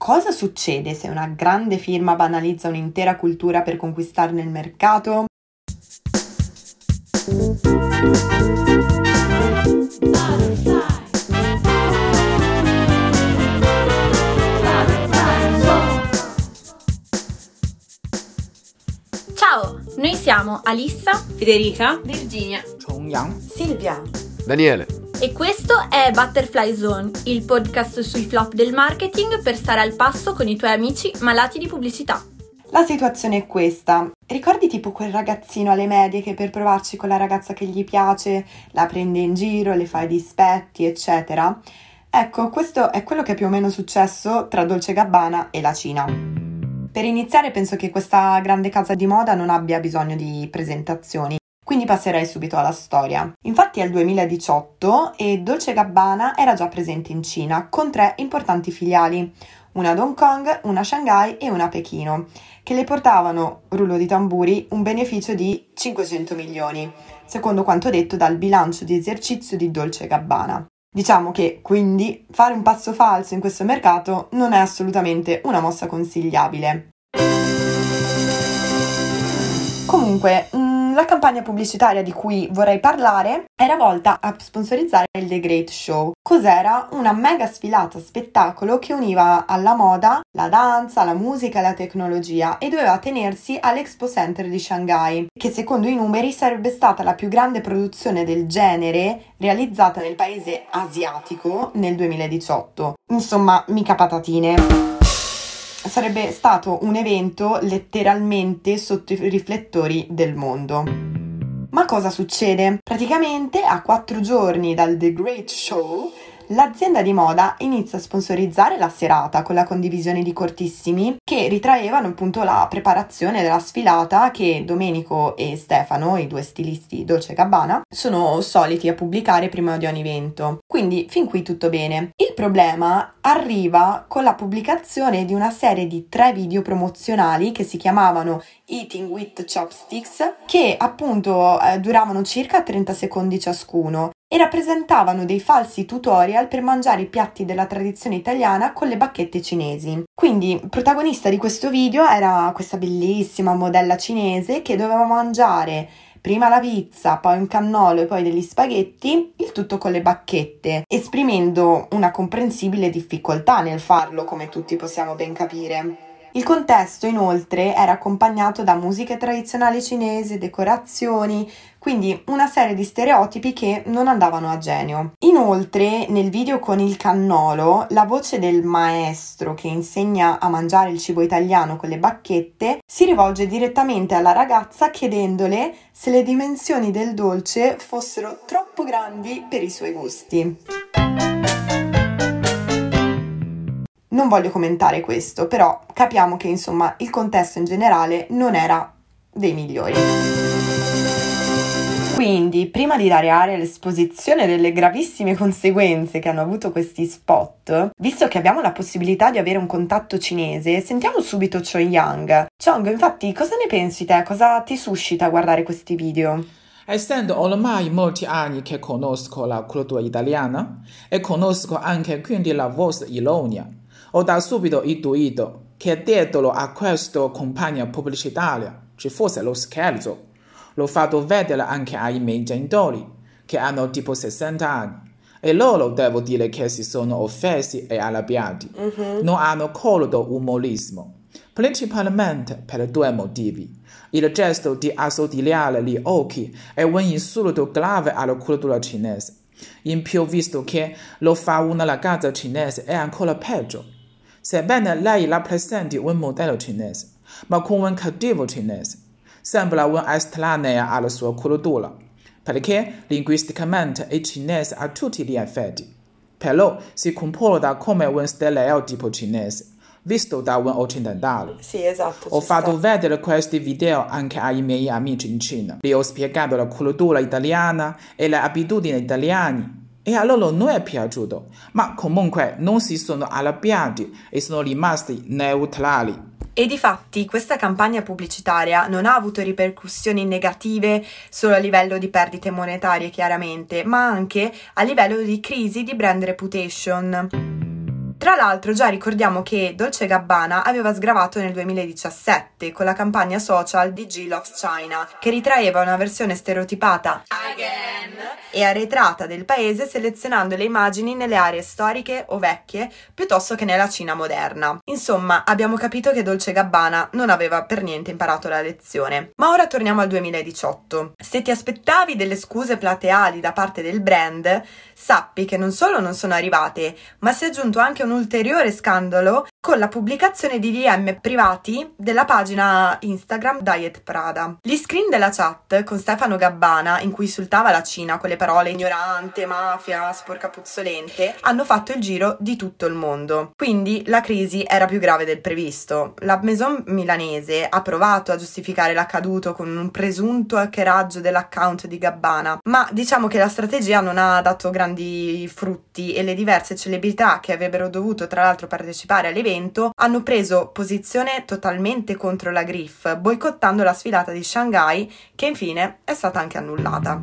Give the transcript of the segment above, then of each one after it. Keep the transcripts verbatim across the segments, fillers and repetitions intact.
Cosa succede se una grande firma banalizza un'intera cultura per conquistarne il mercato? Ciao, noi siamo Alissa, Federica, Virginia, Chongyang, Silvia, Daniele. e questo è Butterfly Zone, il podcast sui flop del marketing per stare al passo con i tuoi amici malati di pubblicità. La situazione è questa. Ricordi tipo quel ragazzino alle medie che per provarci con la ragazza che gli piace la prende in giro, le fa i dispetti, eccetera? Ecco, questo è quello che è più o meno successo tra Dolce e Gabbana e la Cina. Per iniziare penso che questa grande casa di moda non abbia bisogno di presentazioni, quindi passerei subito alla storia. Infatti è il duemiladiciotto e Dolce e Gabbana era già presente in Cina con tre importanti filiali, una ad Hong Kong, una a Shanghai e una a Pechino, che le portavano, rullo di tamburi, un beneficio di cinquecento milioni, secondo quanto detto dal bilancio di esercizio di Dolce e Gabbana. Diciamo che, quindi, fare un passo falso in questo mercato non è assolutamente una mossa consigliabile. Comunque, la campagna pubblicitaria di cui vorrei parlare era volta a sponsorizzare il The Great Show. Cos'era? Una mega sfilata spettacolo che univa alla moda, la danza, la musica e la tecnologia e doveva tenersi all'Expo Center di Shanghai, che secondo i numeri sarebbe stata la più grande produzione del genere realizzata nel paese asiatico nel duemiladiciotto. Insomma, mica patatine. Sarebbe stato un evento letteralmente sotto i riflettori del mondo. Ma cosa succede? Praticamente a quattro giorni dal The Great Show, l'azienda di moda inizia a sponsorizzare la serata con la condivisione di cortissimi che ritraevano appunto la preparazione della sfilata che Domenico e Stefano, i due stilisti Dolce e Gabbana, sono soliti a pubblicare prima di ogni evento. Quindi fin qui tutto bene. Il problema arriva con la pubblicazione di una serie di tre video promozionali che si chiamavano Eating with Chopsticks, che appunto eh, duravano circa trenta secondi ciascuno e rappresentavano dei falsi tutorial per mangiare i piatti della tradizione italiana con le bacchette cinesi. Quindi, protagonista di questo video era questa bellissima modella cinese che doveva mangiare prima la pizza, poi un cannolo e poi degli spaghetti, il tutto con le bacchette, esprimendo una comprensibile difficoltà nel farlo, come tutti possiamo ben capire. Il contesto, inoltre, era accompagnato da musiche tradizionali cinesi, decorazioni, quindi una serie di stereotipi che non andavano a genio. Inoltre, nel video con il cannolo, la voce del maestro che insegna a mangiare il cibo italiano con le bacchette si rivolge direttamente alla ragazza chiedendole se le dimensioni del dolce fossero troppo grandi per i suoi gusti. Non voglio commentare questo, però capiamo che insomma il contesto in generale non era dei migliori. Quindi, prima di dare aria all'esposizione delle gravissime conseguenze che hanno avuto questi spot, visto che abbiamo la possibilità di avere un contatto cinese, sentiamo subito Chongyang. Chong, infatti, cosa ne pensi te? Cosa ti suscita guardare questi video? Essendo ormai molti anni che conosco la cultura italiana e conosco anche quindi la vostra ironia, ho da subito intuito che dietro a questa campagna pubblicitaria ci fosse lo scherzo. L'ho fatto vedere anche ai miei genitori, che hanno tipo sessanta anni, e loro devo dire che si sono offesi e arrabbiati. Mm-hmm. Non hanno colto umorismo, principalmente per due motivi. Il gesto di assottigliare gli occhi è un insulto grave alla cultura cinese. In più, visto che lo fa una ragazza cinese, è ancora peggio. Sebbene lei rappresenti un modello cinese, ma con un cattivo cinese, sembra un'estranea alla sua cultura, perché linguisticamente è cinese a tutti gli effetti, però si comporta come un stereotipo cinese, visto da un occidentale. Sì, esatto. Ho fatto sta. vedere questi video anche ai miei amici in Cina. Gli ho spiegato la cultura italiana e le abitudini italiane. E a loro non è piaciuto, ma comunque non si sono arrabbiati e sono rimasti neutrali. E difatti questa campagna pubblicitaria non ha avuto ripercussioni negative solo a livello di perdite monetarie chiaramente, ma anche a livello di crisi di brand reputation. Tra l'altro già ricordiamo che Dolce Gabbana aveva sgravato nel duemiladiciassette con la campagna social di G Loves China, che ritraeva una versione stereotipata Again e arretrata del paese, selezionando le immagini nelle aree storiche o vecchie piuttosto che nella Cina moderna. Insomma, abbiamo capito che Dolce Gabbana non aveva per niente imparato la lezione. Ma ora torniamo al duemiladiciotto. Se ti aspettavi delle scuse plateali da parte del brand, sappi che non solo non sono arrivate, ma si è aggiunto anche un ulteriore scandalo con la pubblicazione di D M privati della pagina Instagram Diet Prada. Gli screen della chat con Stefano Gabbana, in cui insultava la Cina con le parole ignorante, mafia, sporca puzzolente, hanno fatto il giro di tutto il mondo. Quindi la crisi era più grave del previsto. La maison milanese ha provato a giustificare l'accaduto con un presunto hackeraggio dell'account di Gabbana, ma diciamo che la strategia non ha dato grandi frutti e le diverse celebrità che avrebbero dovuto tra l'altro partecipare all'evento hanno preso posizione totalmente contro la Griff, boicottando la sfilata di Shanghai, che infine è stata anche annullata.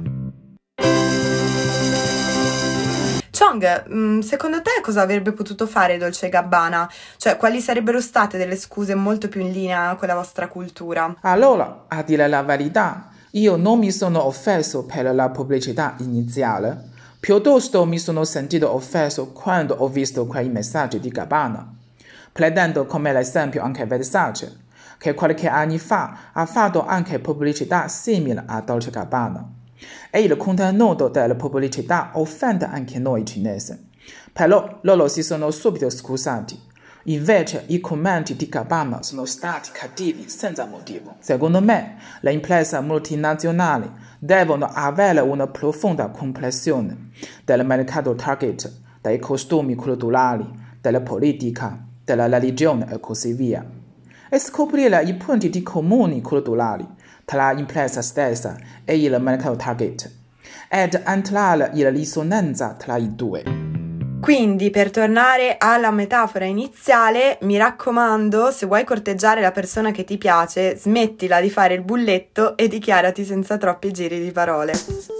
Chong, secondo te cosa avrebbe potuto fare Dolce Gabbana? Cioè, quali sarebbero state delle scuse molto più in linea con la vostra cultura? Allora, a dire la verità, io non mi sono offeso per la pubblicità iniziale, piuttosto mi sono sentito offeso quando ho visto quei messaggi di Gabbana. Prendendo come l'esempio anche Versace, che qualche anno fa ha fatto anche pubblicità simile a Dolce Gabbana. E il contenuto della pubblicità offende anche noi cinesi. Però loro si sono subito scusati. Invece i commenti di Gabbana sono stati cattivi senza motivo. Secondo me, le imprese multinazionali devono avere una profonda comprensione del mercato target, dei costumi culturali, della politica, della religione e così via, e scoprire i punti di comuni culturali tra l'impresa stessa e il mercato target, ed entrare in risonanza tra i due. Quindi, per tornare alla metafora iniziale, mi raccomando, se vuoi corteggiare la persona che ti piace, smettila di fare il bulletto e dichiarati senza troppi giri di parole.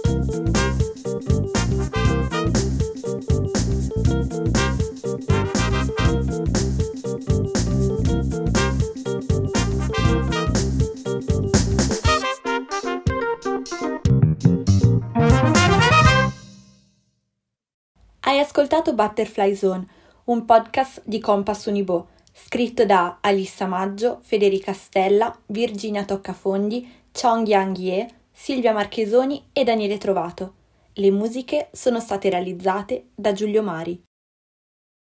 Hai ascoltato Butterfly Zone, un podcast di Compass Unibo, scritto da Alissa Maggio, Federica Stella, Virginia Toccafondi, Chong Yang Ye, Silvia Marchesoni e Daniele Trovato. Le musiche sono state realizzate da Giulio Mari.